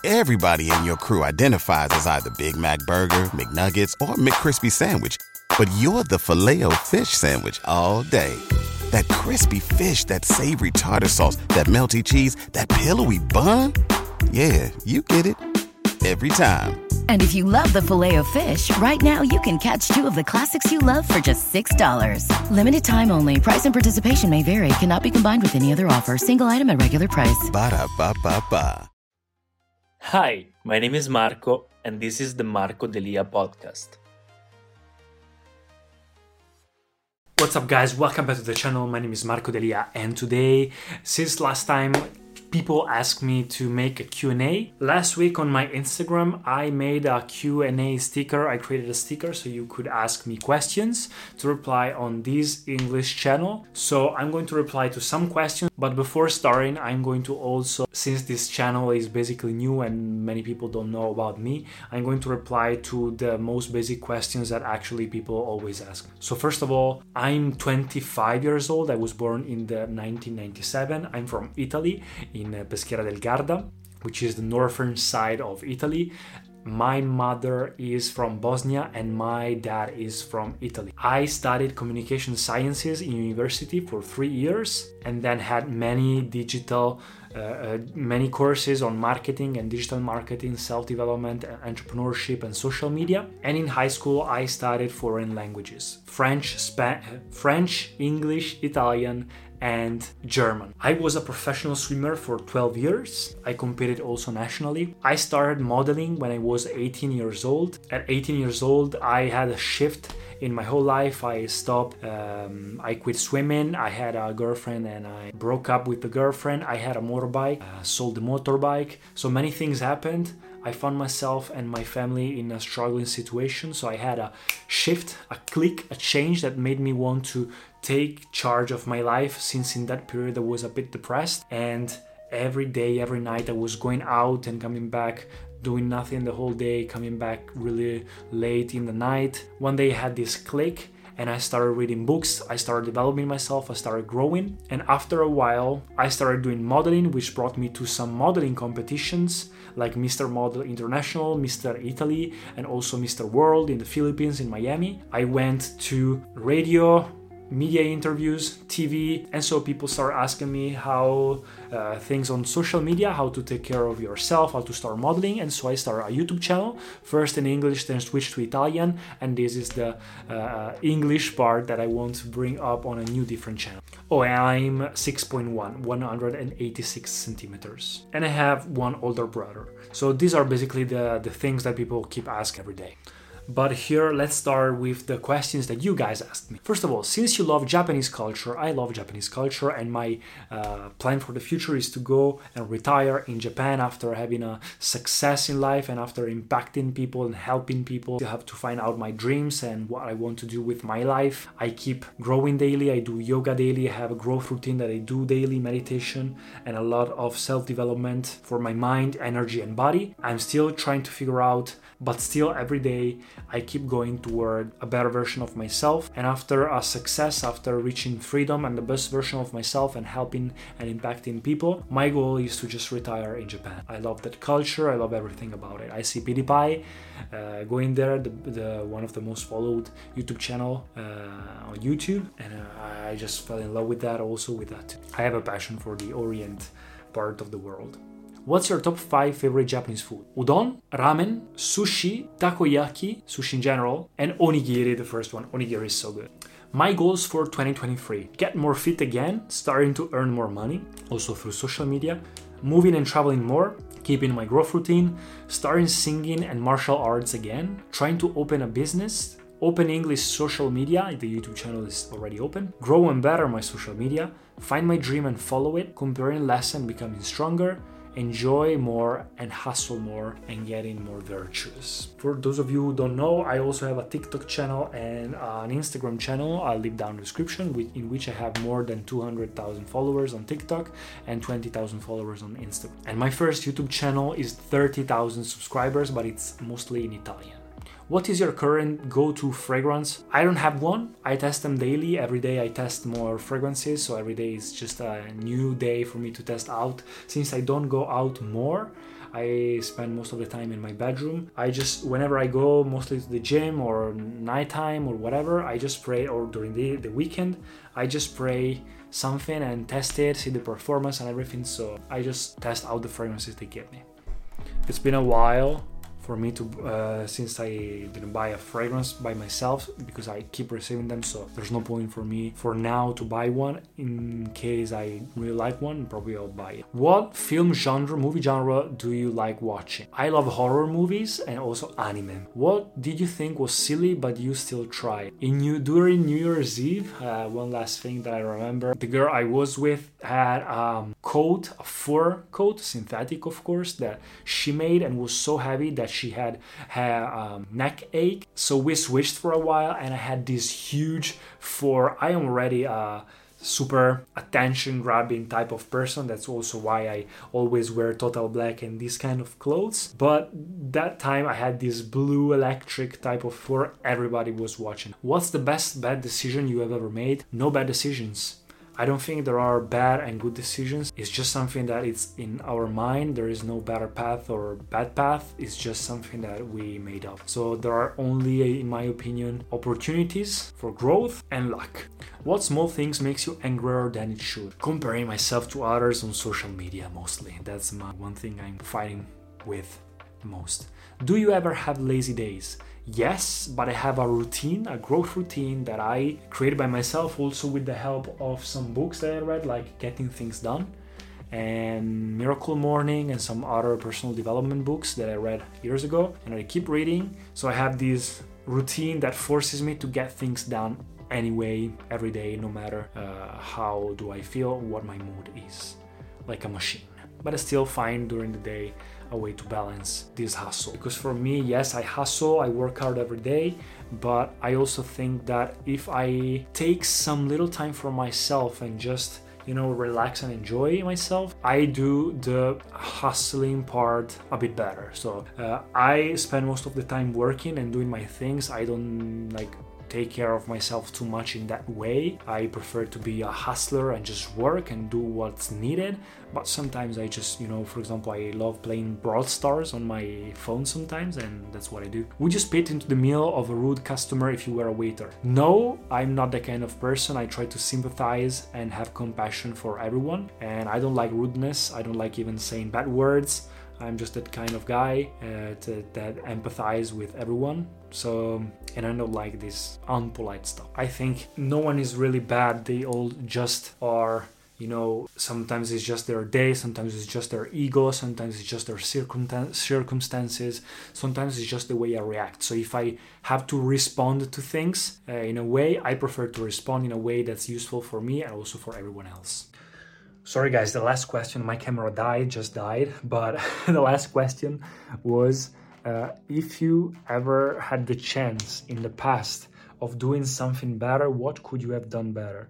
Everybody in your crew identifies as either Big Mac Burger, McNuggets, or McCrispy Sandwich. But you're the Filet-O-Fish Sandwich all day. That crispy fish, that savory tartar sauce, that melty cheese, that pillowy bun. Yeah, you get it. Every time. And if you love the Filet-O-Fish, right now you can catch two of the classics you love for just $6. Limited time only. Price and participation may vary. Cannot be combined with any other offer. Single item at regular price. Ba-da-ba-ba-ba. Hi, my name is Marco, and this is the Marco Delia podcast. What's up, guys? Welcome back to the channel. My name is Marco Delia, and today, since last time, people asked me to make a Q&A. Last week on my Instagram, I made a Q&A sticker. I created a sticker so you could ask me questions to reply on this English channel. So I'm going to reply to some questions, but before starting, I'm going to also, since this channel is basically new and many people don't know about me, I'm going to reply to the most basic questions that actually people always ask. So first of all, I'm 25 years old. I was born in the 1997. I'm from Italy, in Peschiera del Garda, which is the northern side of Italy. My mother is from Bosnia and my dad is from Italy. I studied communication sciences in university for 3 years and then had many courses on marketing and digital marketing, self-development, entrepreneurship, and social media. And in high school, I studied foreign languages: French, English, Italian, and German. I was a professional swimmer for 12 years. I competed also nationally. I started modeling when I was 18 years old. At 18 years old, I had a shift in my whole life. I quit swimming. I had a girlfriend and I broke up with the girlfriend. I had a motorbike, sold the motorbike. So many things happened. I found myself and my family in a struggling situation. So I had a shift, a click, a change that made me want to take charge of my life, since in that period I was a bit depressed, and every day, every night I was going out and coming back, doing nothing the whole day, coming back really late in the night. One day I had this click and I started reading books, I started developing myself, I started growing, and after a while I started doing modeling, which brought me to some modeling competitions like Mr. Model International, Mr. Italy, and also Mr. World in the Philippines, in Miami. I went to radio, media interviews, TV, and so people start asking me how things on social media, how to take care of yourself, how to start modeling, and so I started a YouTube channel, first in English, then switched to Italian, and this is the English part that I want to bring up on a new different channel. Oh, and I'm 6'1", 186 centimeters, and I have one older brother. So these are basically the things that people keep asking every day. But here, let's start with the questions that you guys asked me. First of all, since you love Japanese culture, I love Japanese culture, and my plan for the future is to go and retire in Japan after having a success in life and after impacting people and helping people. I have to find out my dreams and what I want to do with my life. I keep growing daily. I do yoga daily. I have a growth routine that I do daily, meditation, and a lot of self-development for my mind, energy, and body. I'm still trying to figure out, but still every day I keep going toward a better version of myself. And after a success, after reaching freedom and the best version of myself and helping and impacting people, my goal is to just retire in Japan. I love that culture. I love everything about it. I see PewDiePie going there, the one of the most followed YouTube channel on YouTube, and I just fell in love with that, also with that. I have a passion for the Orient part of the world. What's your top 5 favorite Japanese food? Udon, ramen, sushi, takoyaki, sushi in general, and onigiri, the first one. Onigiri is so good. My goals for 2023: get more fit again, starting to earn more money, also through social media, moving and traveling more, keeping my growth routine, starting singing and martial arts again, trying to open a business, open English social media, the YouTube channel is already open, grow and better my social media, find my dream and follow it, comparing less and becoming stronger, enjoy more and hustle more and getting more virtuous. For those of you who don't know, I also have a TikTok channel and an Instagram channel. I'll leave down in the description, in which I have more than 200,000 followers on TikTok and 20,000 followers on Instagram. And my first YouTube channel is 30,000 subscribers, but it's mostly in Italian. What is your current go-to fragrance? I don't have one. I test them daily. Every day I test more fragrances, so every day is just a new day for me to test out. Since I don't go out more, I spend most of the time in my bedroom. Whenever I go mostly to the gym or nighttime or whatever, I just spray, or during the weekend, I just spray something and test it, see the performance and everything. So I just test out the fragrances they give me. It's been a while for me to, since I didn't buy a fragrance by myself, because I keep receiving them, so there's no point for me for now to buy one. In case I really like one, probably I'll buy it. What movie genre do you like watching? I love horror movies and also anime. What did you think was silly but you still try? During New Year's Eve, one last thing that I remember, the girl I was with had a fur coat, synthetic of course, that she made and was so heavy that she had neck ache. So we switched for a while and I had this huge fur. I am already a super attention grabbing type of person. That's also why I always wear total black and these kind of clothes. But that time I had this blue electric type of fur. Everybody was watching. What's the best bad decision you have ever made? No bad decisions. I don't think there are bad and good decisions. It's just something that it's in our mind. There is no better path or bad path. It's just something that we made up. So there are only, in my opinion, opportunities for growth and luck. What small things makes you angrier than it should? Comparing myself to others on social media mostly. That's one thing I'm fighting with the most. Do you ever have lazy days? Yes, but I have a routine, a growth routine that I created by myself, also with the help of some books that I read, like Getting Things Done and Miracle Morning and some other personal development books that I read years ago, and I keep reading. So I have this routine that forces me to get things done anyway, every day, no matter how do I feel, what my mood is, like a machine. But I still find during the day a way to balance this hustle. Because for me, yes, I hustle, I work hard every day, but I also think that if I take some little time for myself and just, relax and enjoy myself, I do the hustling part a bit better. So I spend most of the time working and doing my things. I don't take care of myself too much in that way. I prefer to be a hustler and just work and do what's needed. But sometimes I just, for example, I love playing Brawl Stars on my phone sometimes, and that's what I do. Would you spit into the meal of a rude customer if you were a waiter? No, I'm not the kind of person. I try to sympathize and have compassion for everyone, and I don't like rudeness. I don't like even saying bad words. I'm just that kind of guy that empathize with everyone. So, and I don't like this unpolite stuff. I think no one is really bad. They all just are, sometimes it's just their day, sometimes it's just their ego, sometimes it's just their circumstances, sometimes it's just the way I react. So if I have to respond to things in a way, I prefer to respond in a way that's useful for me and also for everyone else. Sorry guys, the last question, my camera just died, but the last question was, if you ever had the chance in the past of doing something better, what could you have done better?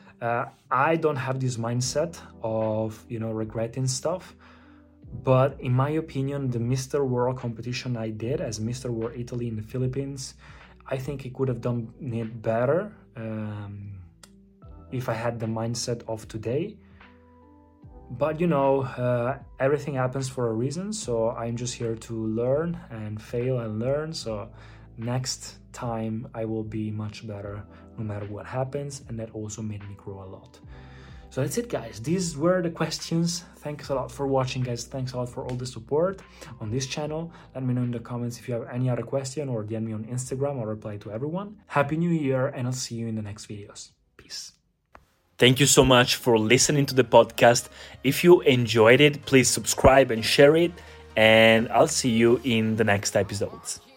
I don't have this mindset of, regretting stuff, but in my opinion, the Mr. World competition I did as Mr. World Italy in the Philippines, I think I could have done it better if I had the mindset of today. But everything happens for a reason, so I'm just here to learn and fail and learn. So next time I will be much better no matter what happens, and that also made me grow a lot. So that's it guys, these were the questions. Thanks a lot for watching guys, thanks a lot for all the support on this channel. Let me know in the comments if you have any other question, or DM me on Instagram. I'll reply to everyone. Happy New Year, and I'll see you in the next videos. Peace. Thank you so much for listening to the podcast. If you enjoyed it, please subscribe and share it, and I'll see you in the next episodes.